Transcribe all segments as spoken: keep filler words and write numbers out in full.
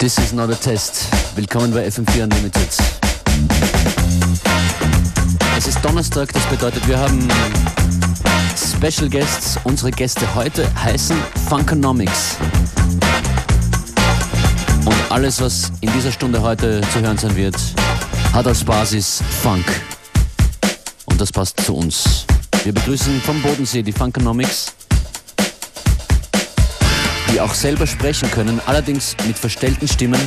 This is not a test. Willkommen bei F M vier Unlimited. Es ist Donnerstag, das bedeutet, wir haben Special Guests. Unsere Gäste heute heißen Funkonomics. Und alles, was in dieser Stunde heute zu hören sein wird, hat als Basis Funk. Und das passt zu uns. Wir begrüßen vom Bodensee die Funkonomics, die auch selber sprechen können, allerdings mit verstellten Stimmen.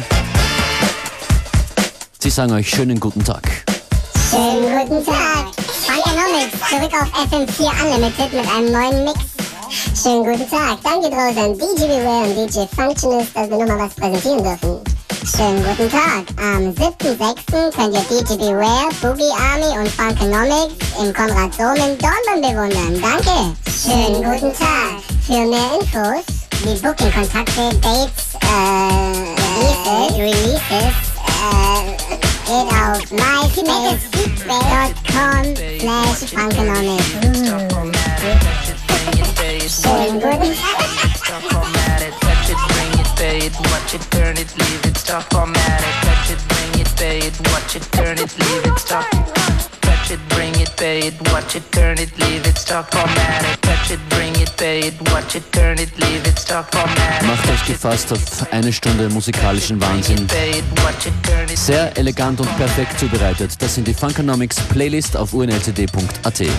Sie sagen euch schönen guten Tag. Schönen guten Tag. Funkonomics, zurück auf F M vier Unlimited mit einem neuen Mix. Schönen guten Tag. Danke draußen an D J Beware und D J Functionist, dass wir nochmal was präsentieren dürfen. Schönen guten Tag. Am siebten sechsten könnt ihr D J Beware, Boogie Army und Funkonomics im Konrad Dom in Dornbirn bewundern. Danke. Schönen guten Tag. Für mehr Infos wie Booking-Kontakte, Dates, äh, Releases, Releases, äh, geht auf myspace dot com slash funkonomics. Schönen guten Tag. Pay it, watch it, turn it, leave it, stop, format it, touch it, bring it, pay it, watch it, turn it, leave it, stop, touch it, bring it, pay it, watch it, turn it, leave it, stop, format it, touch it, bring it, pay it, watch it, turn it, leave it, stop, format it. Macht euch gefasst auf eine Stunde musikalischen Wahnsinn. Sehr elegant und perfekt zubereitet. Das sind die Funkonomics Playlist auf u n l c d punkt a t.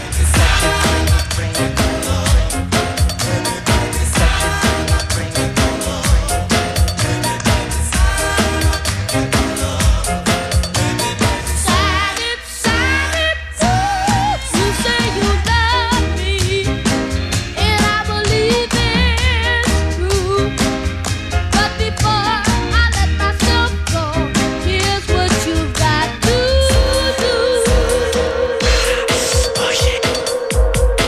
Push it.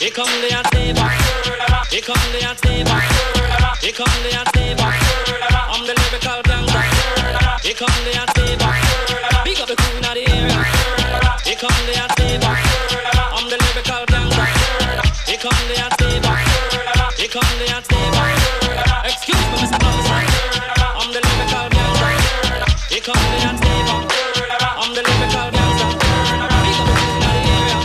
Here come the saver. Here come the saver. Here come the saver. I'm the lyrical gangster. Here come the saver. Big up the crew in the area. Here come the saver. I'm the lyrical gangster. Here come the saver. Here come the saver. Excuse me, Mister Officer. I'm the lyrical gangster. Here come the saver. I'm the lyrical gangster. Big up the crew in the area.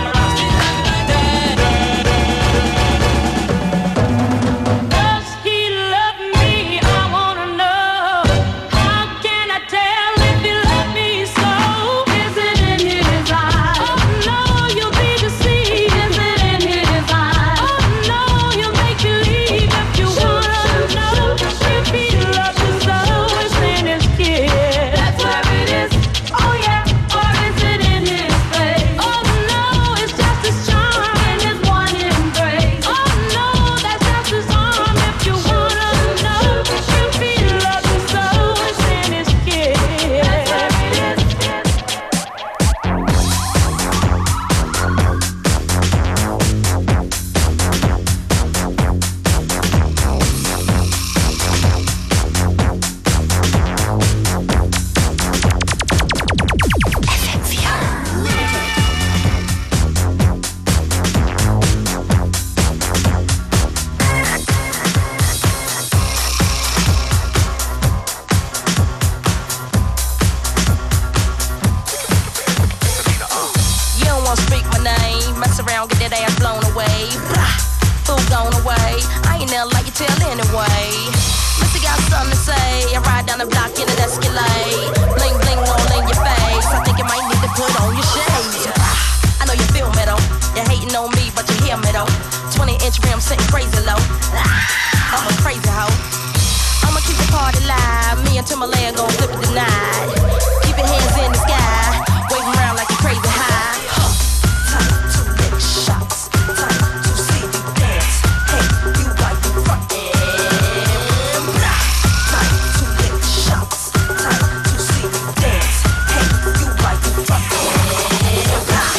Does he love me? I wanna know. How can I tell if he loves me so? Is it in his eyes? Oh no, you'll be deceived. Is it in his eyes? Oh no, you'll make believe if you wanna know. If he loves you so, it's in his kiss. That's where it is. Oh yeah, or is it in his face? Oh no, it's just his charm and his one embrace. Oh no, that's just his arm. If you wanna know, if he loves you so, it's in his kiss. That's where it is. You don't wanna speak my name, mess around, get that ass blown away. Blah, fool gone away. I ain't never like you tell anyway. Missy got something to say. I ride down the block in an Escalade. Bling bling all in your face. I think you might need to put on your shades. I know you feel me though. You're hating on me, but you hear me though. twenty inch rim sitting crazy low. I'm a crazy hoe. I'ma keep the party live. Me and Timberland gon' flip it tonight. Keep your hands in the sky. Waving around like you're crazy high. Time to lick shots. Time to see you dance. Hey, you like the front end. Blah. Time to lick shots. Time to see you dance. Hey, you like the front end. Blah.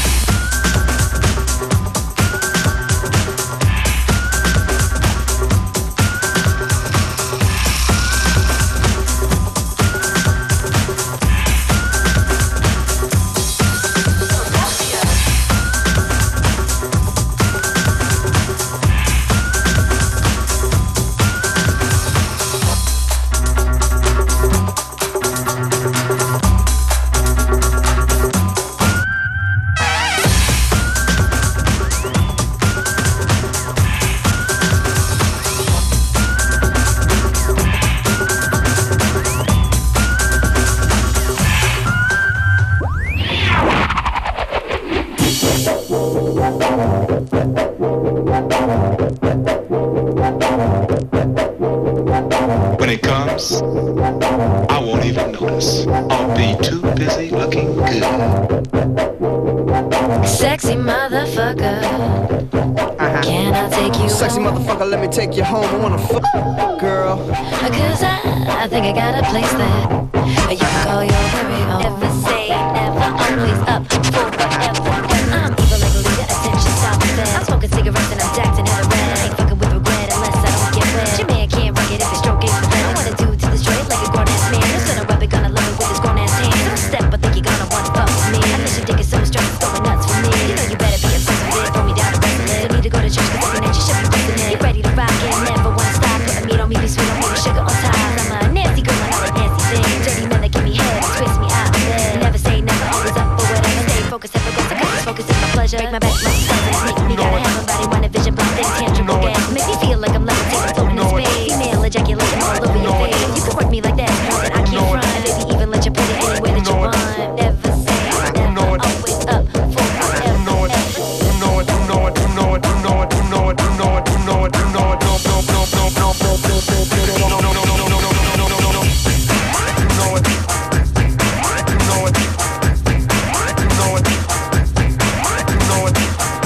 When it comes, I won't even notice. I'll be too busy looking good. Sexy motherfucker, Uh-huh. can I take you Sexy home? motherfucker, let me take you home. I wanna fuck, girl. Cause I, I think I got a place that you can call your very own. Never say never, always up for whatever. I'm evil like a leader, attention stop fed. I'm smoking cigarettes and I'm jacked and had a red. I ain't fucking with regret unless I don't get wet. Your man can't rock it if it's stroke ain't red. I wanna do to the straight like a grown ass man. Who's gonna rub it, gonna love it with his grown ass hand. Don't step, I think you're gonna wanna fuck with me. I think your dick is so strong, it's going nuts for me. You know you better be obsessed with it, throw me down to wrestle it. Don't need to go to church, cause looking at you should be pressing it. You ready to rock it, never wanna stop. Putting meat on me, be sweet on me, with sugar on top. I'm a nasty girl, I like nasty things. Dirty men that give me head, twist me out of bed. Never say never, always up for whatever. Stay focused, never go to cause focus is my pleasure. Break my back, my stomach, make me gotta have somebody want a vision, but things tangible gas. Make me feel like I'm levitating, floating in space. Female ejaculating all over your face. You can work me like that, girl, that I can't front. And baby, even let you put it anywhere that you want. Never say never, always up for whatever. You know it, you know it, you know it, you know it, you know it, you know it, you know it, you know it, you know it, no, no, no, no, no, no, no, no, no, no, no, no, no, no, no, no, no, no. You know it, you know it, you know it, you know it, you know it.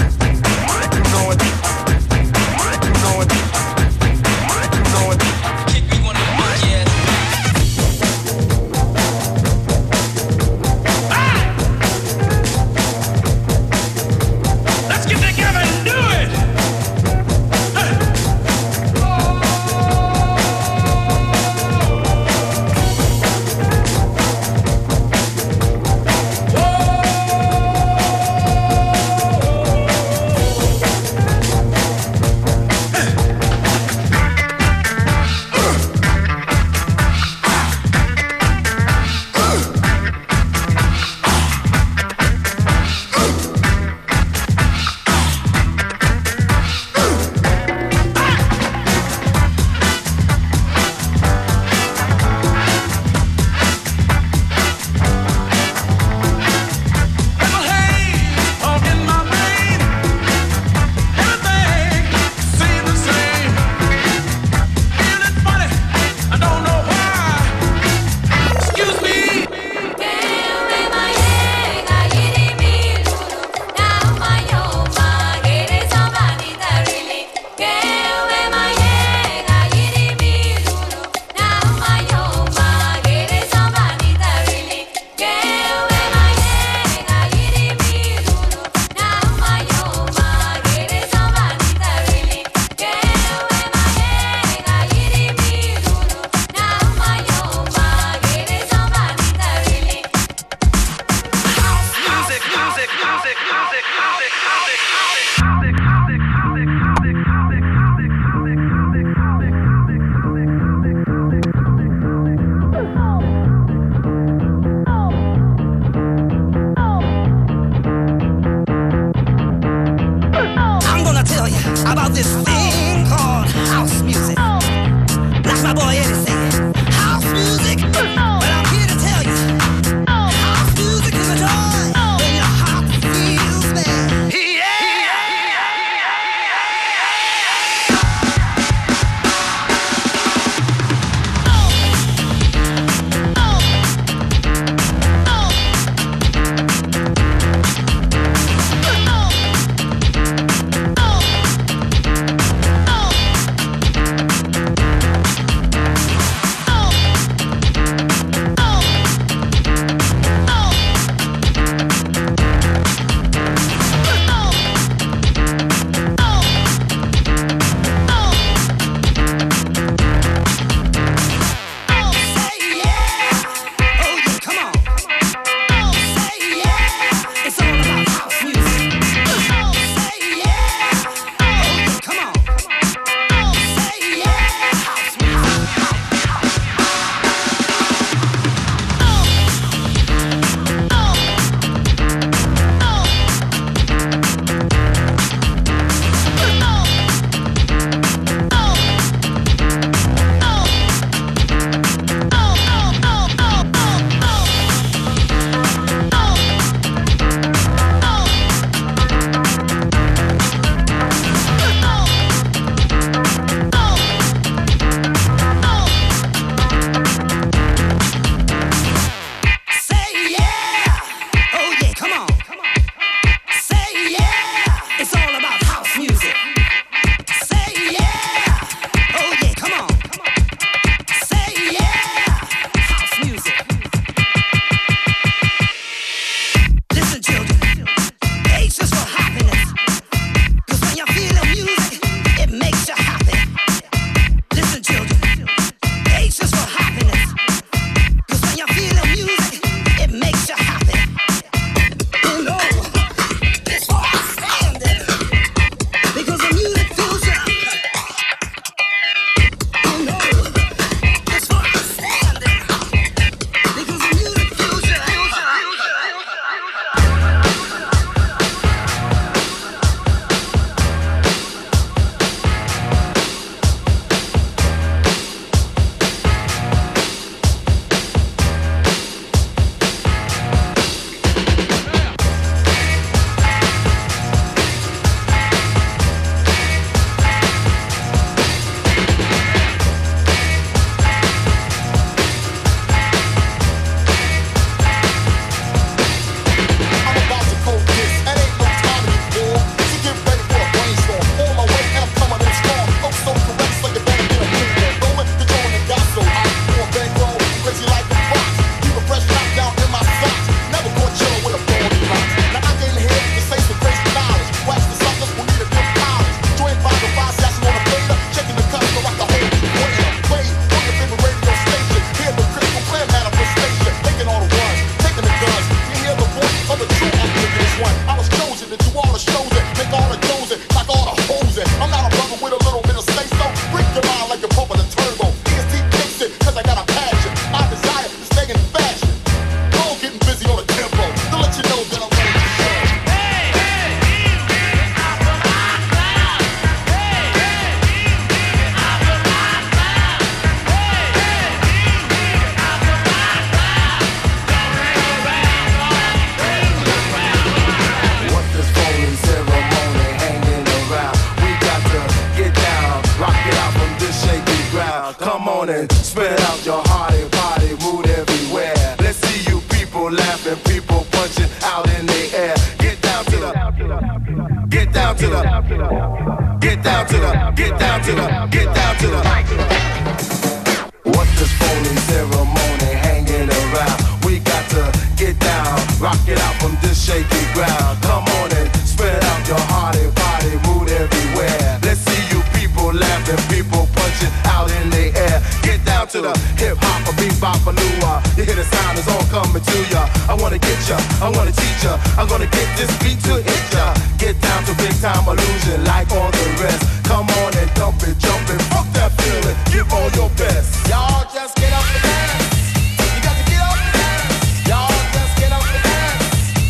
on and spread out your hearty body mood everywhere. Let's see you people laughing, people punching out in the air. Get down to the, get down to the, get down to the, get down to the, get down to the. What's this phony ceremony hanging around? We got to get down, rock it out from this shaky ground. Come on and spread out your hearty body mood everywhere. Let's see you people laughing, people punching out in the air. Get down to the hip hop, a bebop, a lua. You hear the sound is all coming to ya. I wanna get ya, I wanna teach ya. I'm gonna get this beat to hit ya. Get down to big time illusion like all the rest. Come on and dump it, jump it, fuck that feeling. Give all your best. Y'all just get up and dance. You got to get up and dance. Y'all just get up and dance.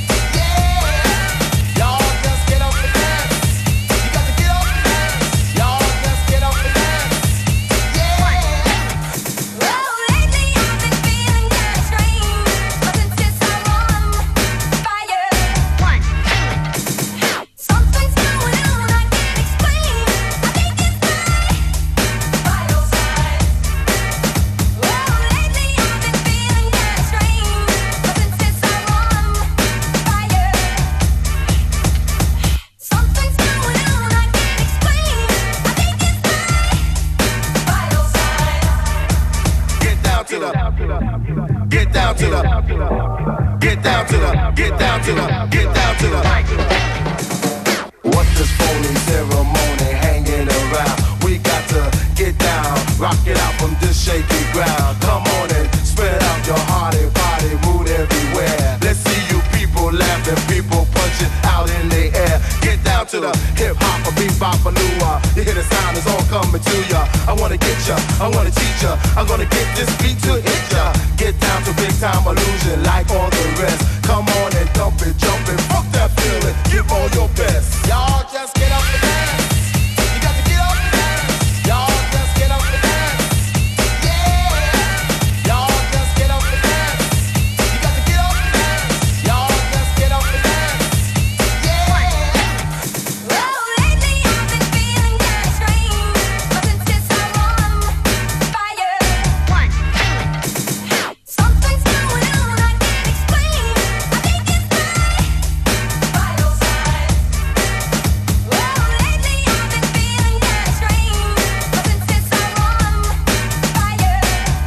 Yeah. Y'all just get up and dance. You got to get up and dance. Y'all just get up and dance. Yeah. Well, lately I've been feeling kinda strange, but since I'm on fire, one, something's going on I can't explain. I think it's my vital sign. Well, lately I've been feeling kinda strange, but since I'm on fire, something's going on I can't explain. I think it's my vital sign. Get down to the, get down to the, get down to the, get down to the, get down to the. What's this phony ceremony hanging around? We got to get down, rock it out from this shaky ground. Come on and spread out your hearty body mood everywhere. Let's see you people laughing, people punching out in the air. Get down to the hip hop, a bebop, a lua. You hear the sound is all coming to ya. I wanna get ya, I wanna teach ya. I'm gonna get this beat to hit ya. Get down to big time illusion like all the rest. Come on and dump it, jump it, fuck that feeling. Give all your best. Y'all just get up and dance. You got to get up and dance. Y'all just get up and dance. Yeah. Y'all just get up and dance. You got to get up and dance. Y'all just get up and dance. Yeah. Well, lately I've been feeling kinda strange, but since I'm on fire, one, something's going on I can't explain. I think it's my vital sign. Well, lately I've been feeling kinda strange, but since I'm on fire,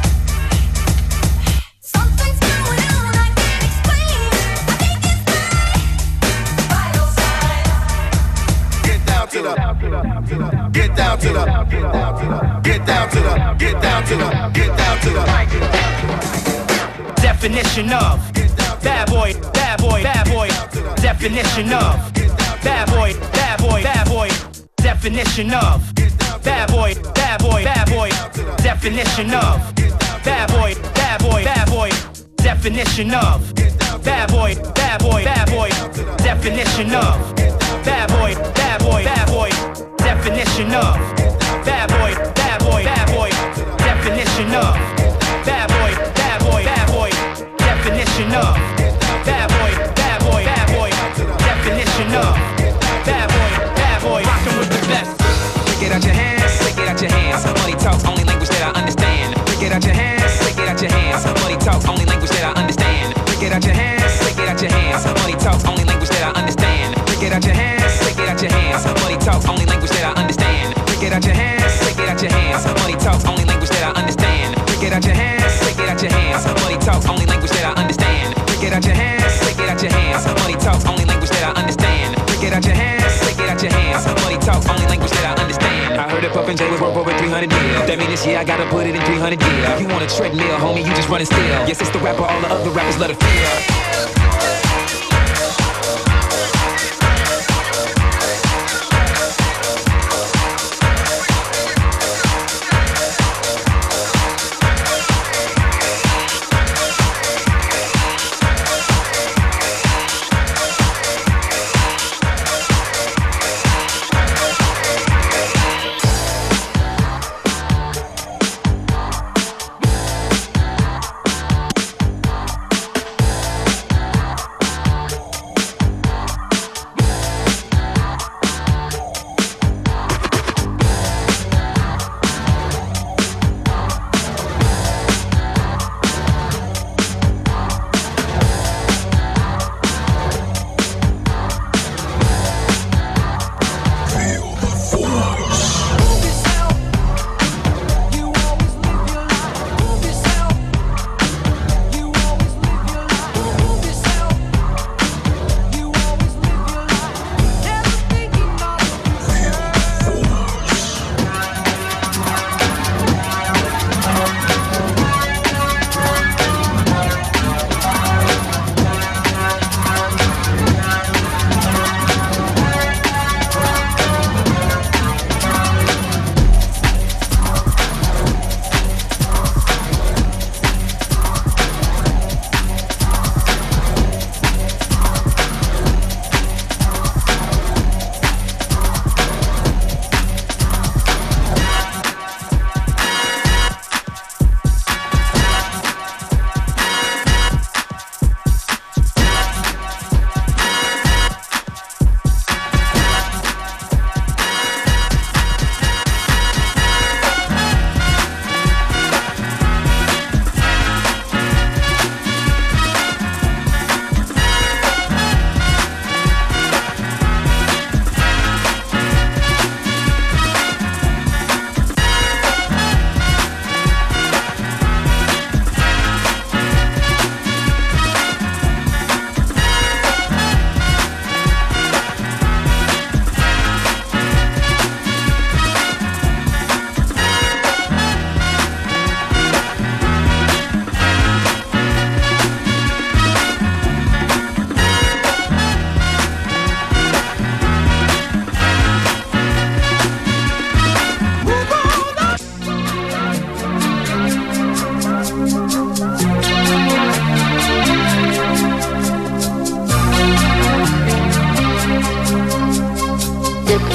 something's going on I can't explain. I think it's my vital sign. Get down to the, get down to the, get down to the, get down to the, get down to the. Definition of bad boy, bad boy, bad boy. Definition of bad boy, bad boy, bad boy. Definition of bad boy, bad boy, bad boy. Definition of bad boy, bad boy, bad boy. Definition of bad boy, bad boy, bad boy. Definition of bad boy, bad boy, bad boy. Definition of bad boy, bad boy, bad boy. Definition of bad boy, bad boy, bad boy. Definition of bad boy, bad boy, bad boy. Definition of bad boy, bad boy. Rockin' with the best. Stick it out your hands, stick it out your hands. Money talk, only language that I understand. Stick it out your hands, stick it out your hands. Money talk, only language that I understand. Stick it out your hands, stick it out your hands. Money talk, only language that I understand. Stick it out your hands, stick it out your hands. Money talk, only language that I understand. Stick it out your hands, stick it out your hands. Money talk, only language that I understand. Stick it out your hands, stick it out your hands. Money talk, only language that I understand. Stick it out your hands, stick it out your hands. Money talk, only language that I understand. Stick it out your hands, stick it out your hands. Money talk, only language that I understand. I heard that Puff and Jay was worth over three hundred mil. That mean this year I gotta put it in three hundred years. You want a treadmill, homie, you just running still. Yes, it's the rapper, all the other rappers let it feel.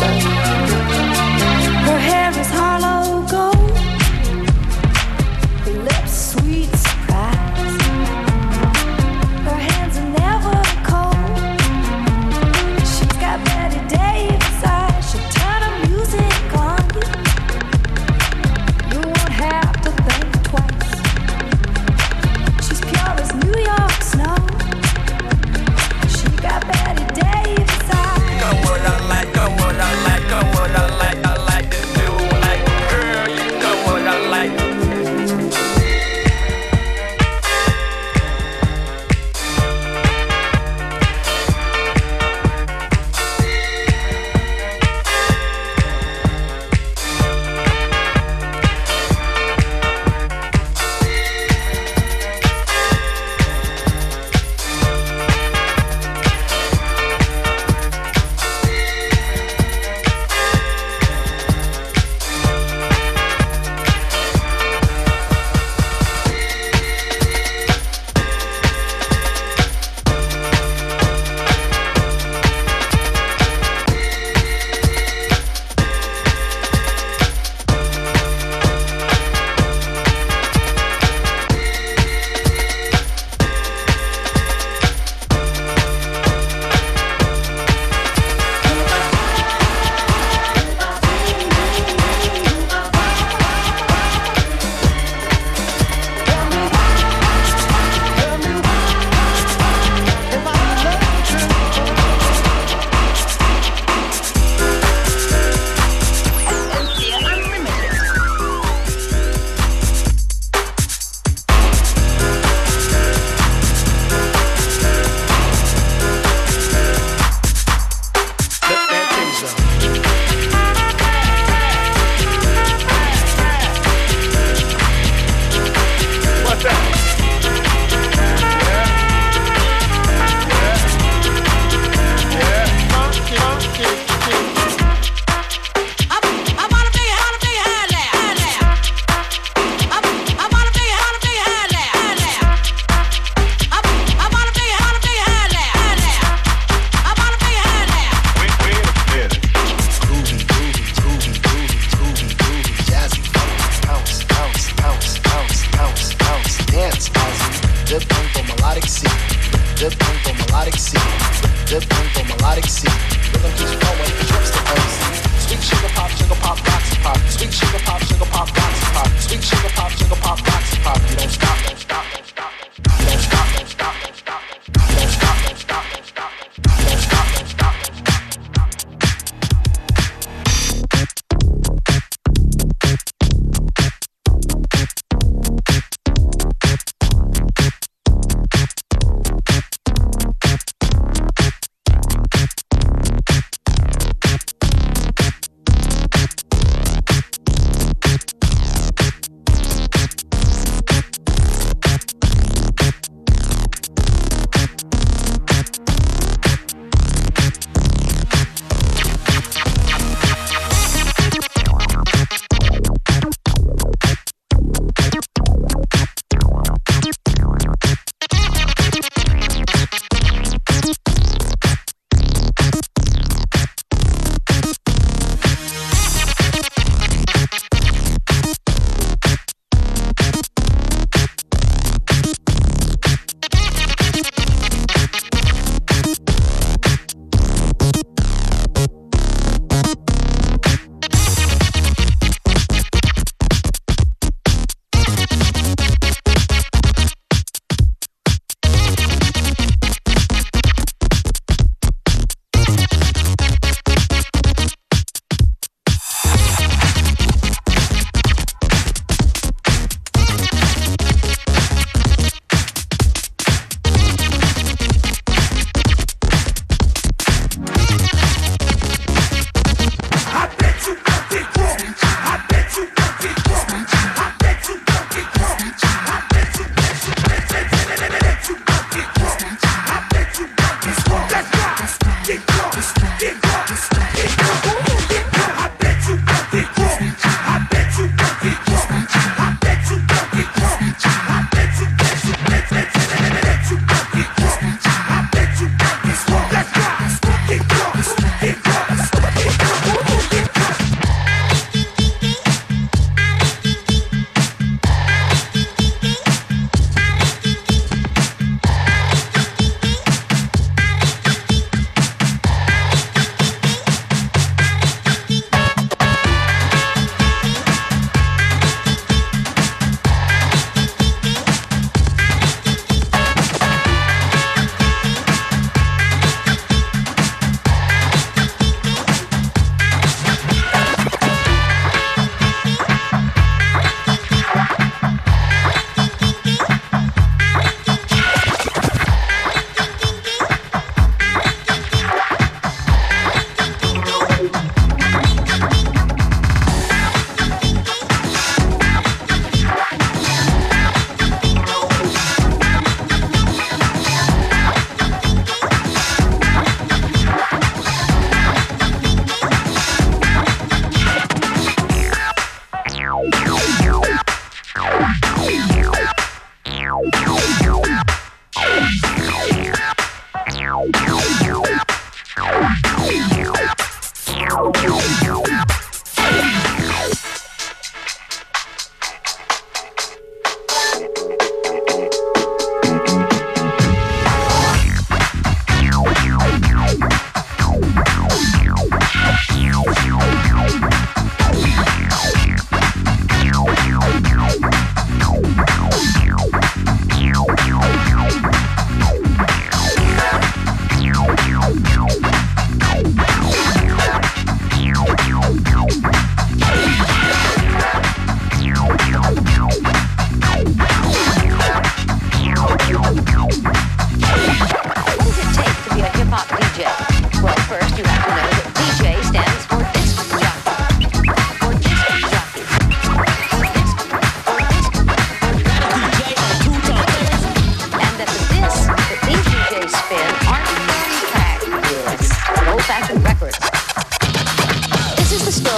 Her hair is hollow gold, her lips sweet surprise. Her hands are never cold. She's got Betty Davis eyes. She'll turn her music on you. You won't have to think twice. She's pure as New York snow. She got Betty Davis eyes. Go what I like, go what I like, go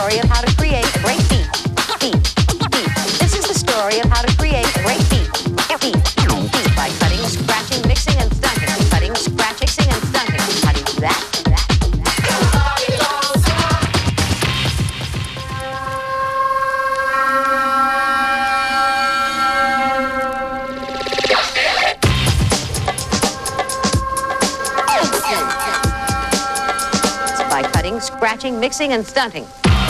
story of how to create a great beat. Beat, beat. This is the story of how to create a great beat. Beat, beat. By cutting, scratching, mixing, and stunting. Cutting, scratching, mixing, and stunting. How do you do that? By cutting, scratching, mixing, and stunting.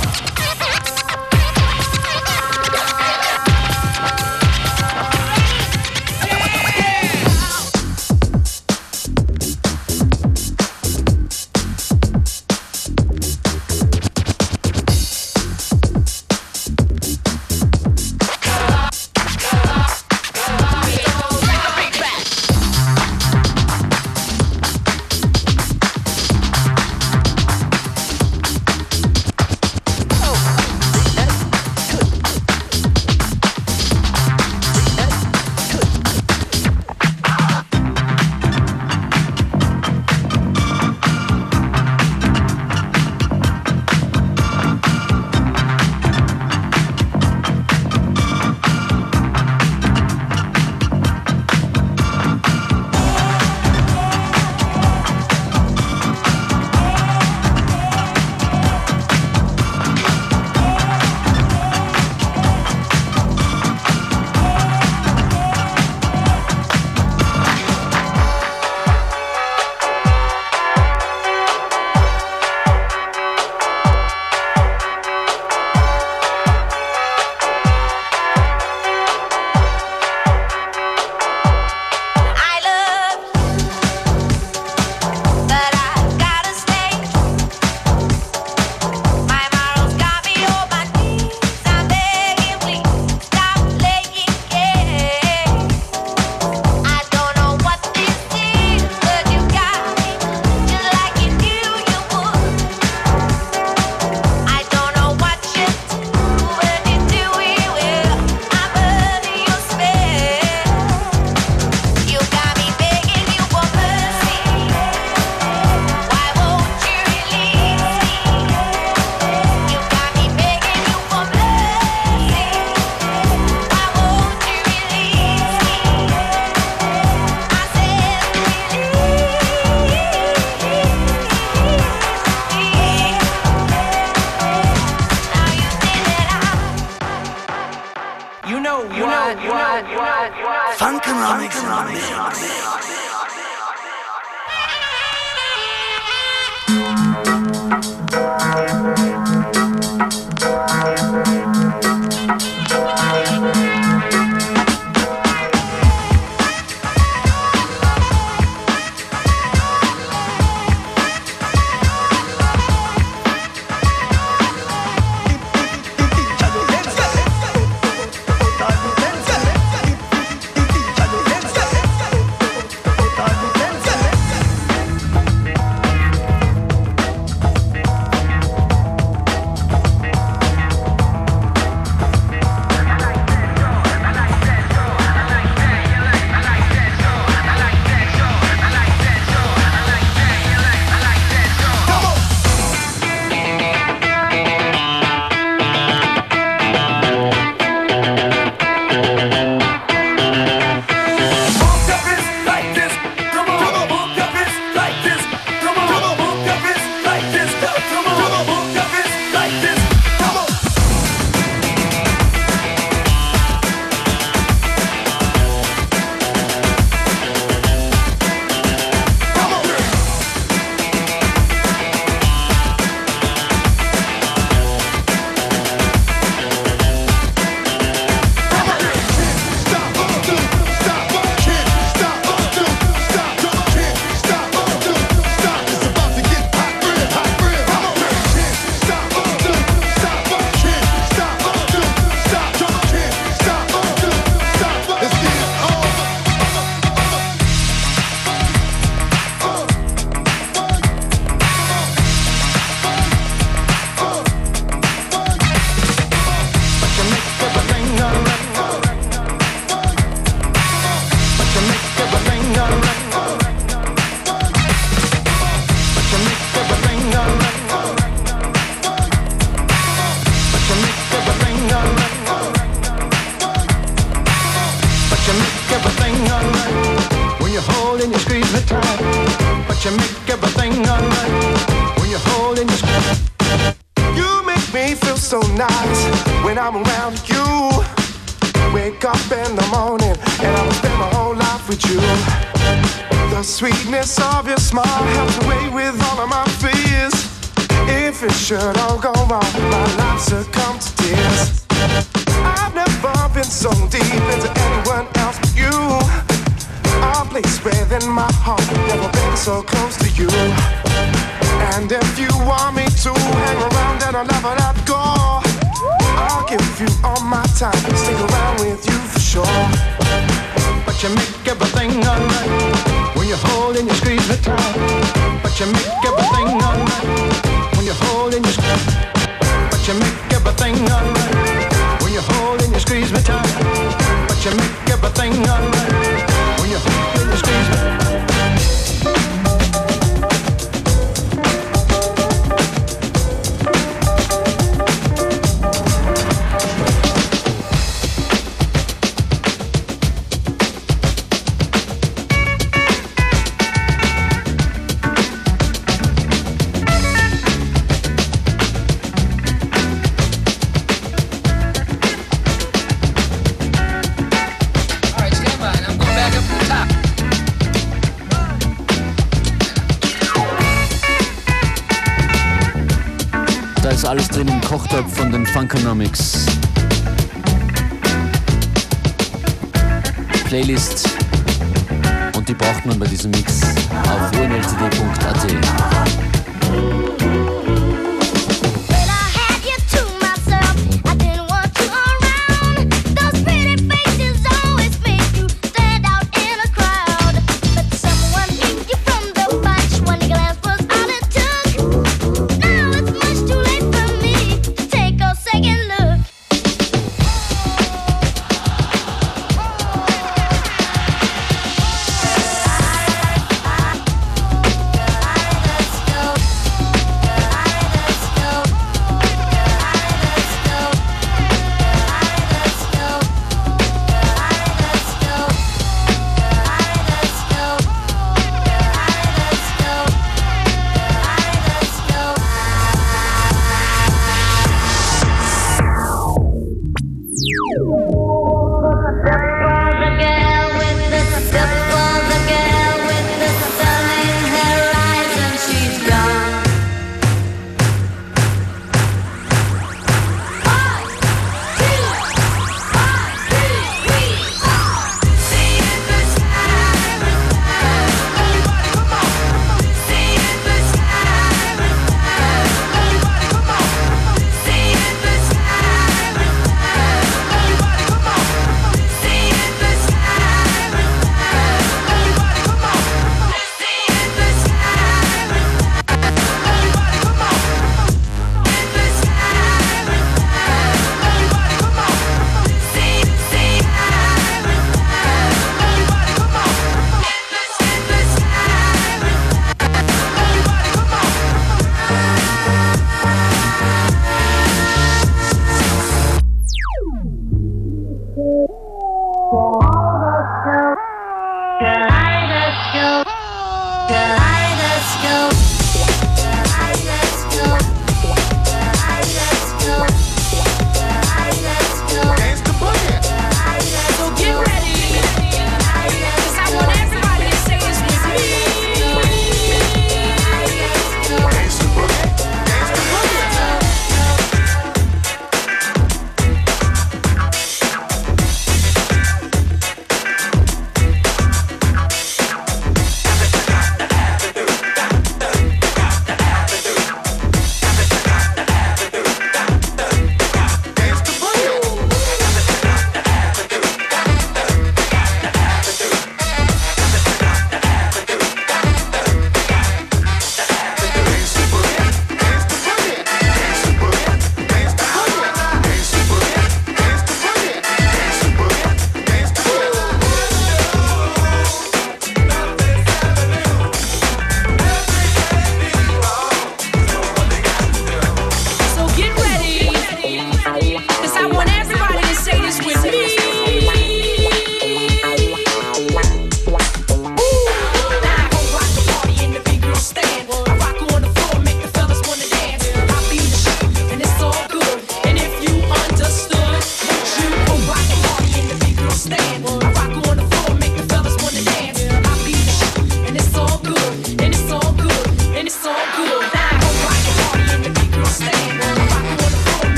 Funkonomics in the mix. you make everything alright when you're holding your skin. You make me feel so nice when I'm around you. Wake up in the morning and I will spend my whole life with you. The sweetness of your smile helps away with all of my fears. If it should all go wrong, my life succumb to tears. I've never been so deep into anyone else but you. A place within my heart, never been so close to you. And if you want me to hang around, then I'll never let go. I'll give you all my time, stick around with you for sure. But you make everything alright when you're holding your squeeze me tight. But you make everything alright when you're holding your squeeze. But you make everything alright when you're holding your squeeze me tight. But you make everything alright when you're holding your squeeze me tight. Alles drin im Kochtopf von den Funkonomics. Playlist und die braucht man bei diesem Mix auf u n l c d punkt a t. Let's go.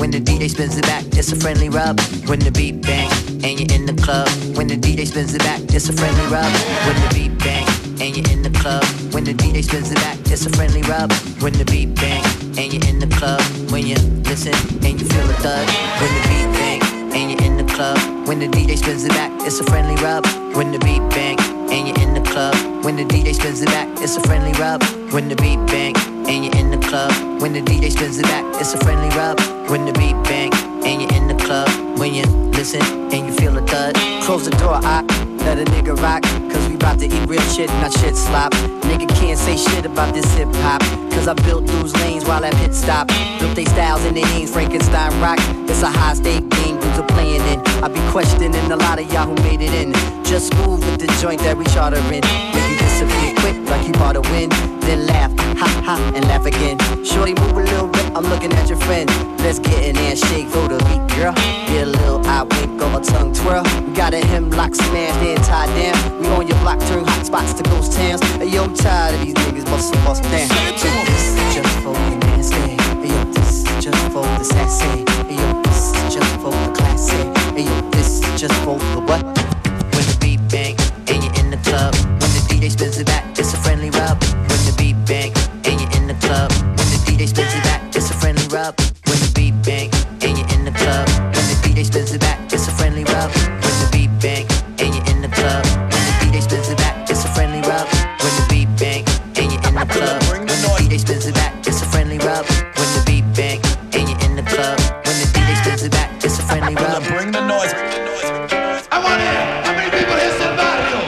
When the D J spins it back, it's a friendly rub. When the beat bang and you're in the club. When the D J spins it back, it's a friendly rub. When the beat bang and you're in the club. When the D J spins it back, it's a friendly rub. When the beat bang and you're in the club. When you listen and you feel a thud. When the beat bang and you're in the club. When the D J spins it back, it's a friendly rub. When the beat bang and you're in the club. When the D J spins it back, it's a friendly rub. When the beat bang and you're in the club. When the D J spins it back, it's a friendly rub. When the beat bang and you're in the club. When you listen and you feel a thud. Close the door, I let a nigga rock. Cause we bout to eat real shit, not shit slop. Nigga can't say shit about this hip hop. Cause I built those lanes while at pit stop. Built they styles in the Ames, Frankenstein rock. It's a high stake game, dudes are playing in. I be questioning a lot of y'all who made it in. Just move with the joint that we charter in. Make you disappear quick like you bought a win. Then laugh, ha ha, and laugh again. Shorty move a little bit, I'm looking at your friend. Let's get in there and shake for the beat, girl. Get a little eye wink or a tongue twirl. We got a hemlock smashed and tied down. We on your block, turn hot spots to ghost towns. Hey yo, I'm tired of these niggas bustin' bust down. This is just for the nasty. Hey yo, this is just for the sassy. Hey yo, this is just for the classy. Hey yo, this is just for the what? When the beat bang and you're in the club. When the D J spins it back, it's a friendly rub. When the beat bang and you're in the club. When the D J spins it back, it's a friendly rub. When the beat bang and you're in the club. When the D J spins it back, it's a friendly rub. When the beat bang and you're in the club. When the D J spins it back, it's a friendly rub. When the beat bang and you're in the club. When the D J spins it back, it's a friendly rub. When the beat bang and you're in the club. When the D J spins it back, it's a friendly rub. Bring the noise. I want to hear how many people here said barrio.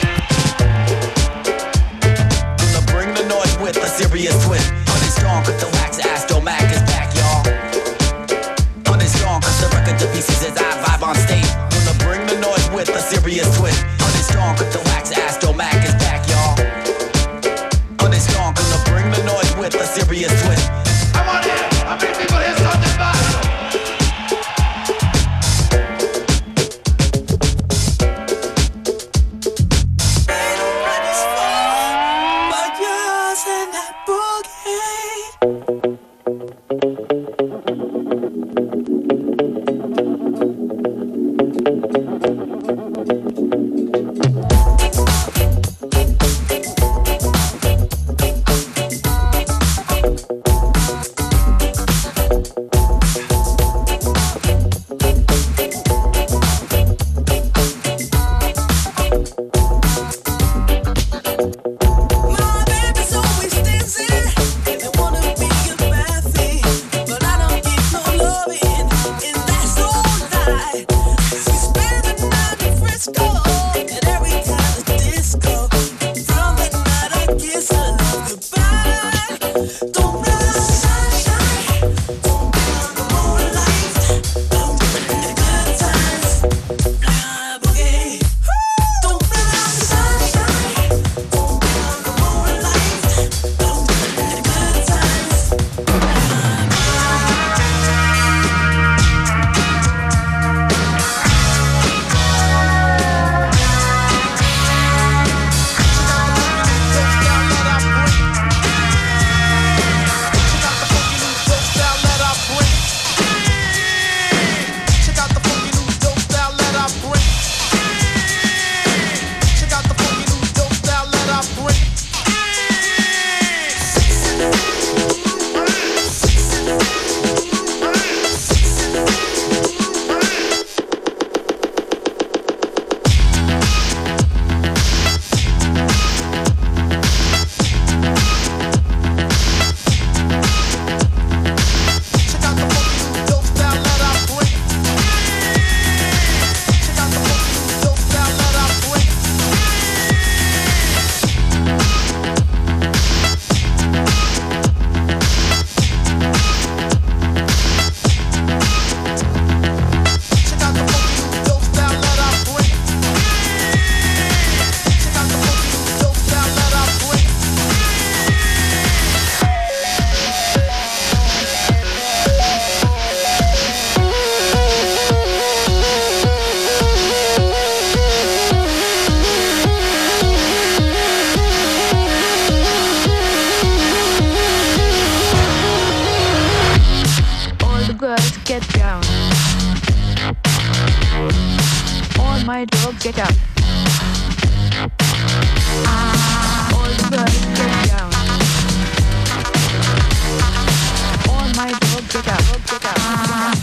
Gonna bring the noise with a serious twist. Honey strong, cause the wax Astro Mac is back, y'all. Honey strong, cause the record to pieces as I vibe on stage. Gonna bring the noise with a serious twist. Honey strong, cause the wax Astro Mac is back, y'all. Honey strong, gonna bring the noise with a serious twist. I want to hear how many people here said the barrio. get up. All the girls get down. All my dogs get up, get up, get up.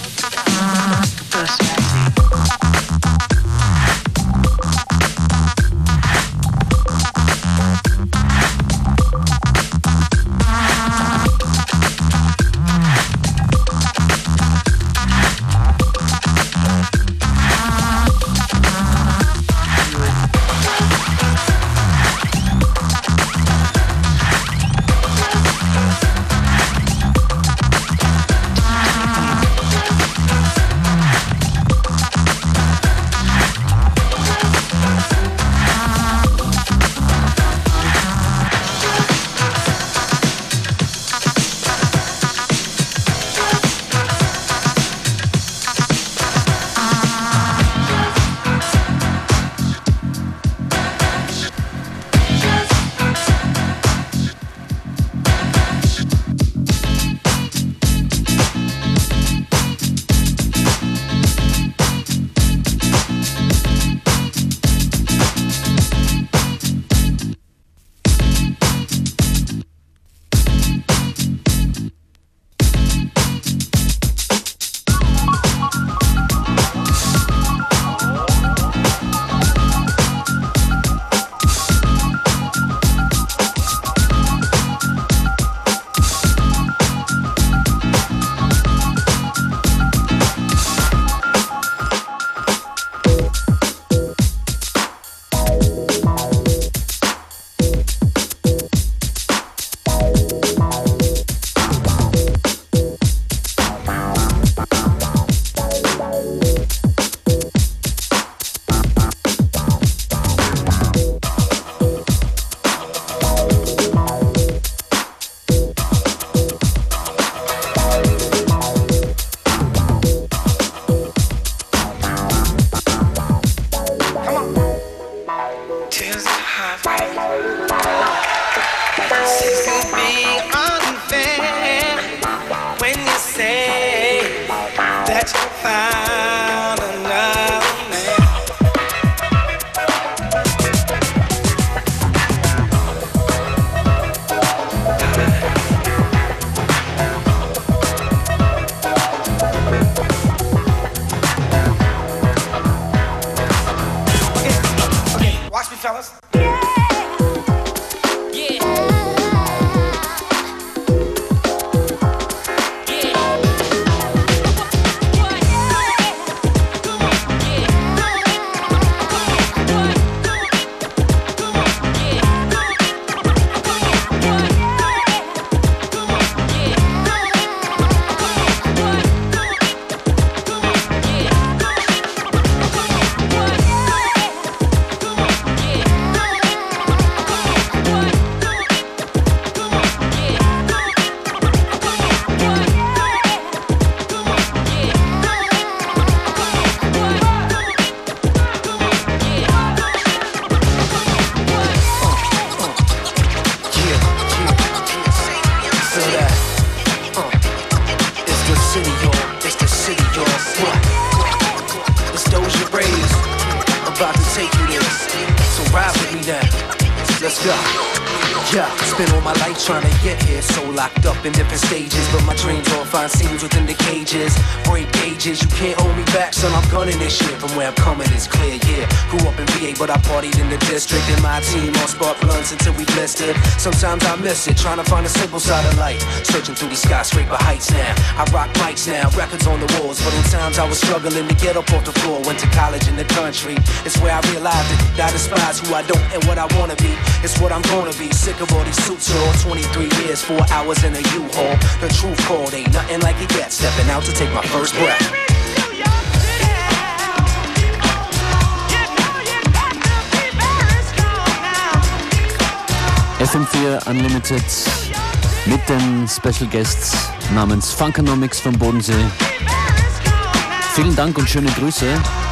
In different stages, but my dreams all find seams within the cages. Break gauges, you can't hold me back, son. I'm gunning this shit. From where I'm coming is clear, yeah. Grew up in V A, but I partied in the district. And my team all spark blunts until we blistered. Sometimes I miss it, trying to find a simple side of life. Searching through these skyscraper heights now. I rock mics now, records on the walls. But in times I was struggling to get up off the floor. Went to college in the country. It's where I realized that I despise who I don't and what I wanna be. It's what I'm gonna be. Sick of all these suits for all twenty-three years, four hours in a U-Haul. The truth called, ain't nothing like it yet. Stepping out to take my first breath. F M vier Unlimited mit den Special Guests namens Funkonomics vom Bodensee. Vielen Dank und schöne Grüße.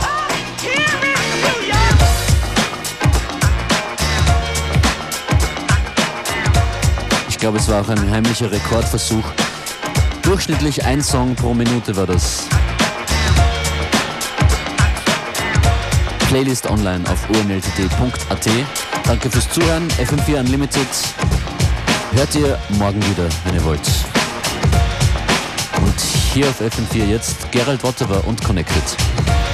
Ich glaube, es war auch ein heimlicher Rekordversuch. Durchschnittlich ein Song pro Minute war das. Playlist online auf o n l t d punkt a t. Danke fürs Zuhören. F M vier Unlimited hört ihr morgen wieder, wenn ihr wollt. Und hier auf F M vier jetzt Gerald Wottewer und Connected.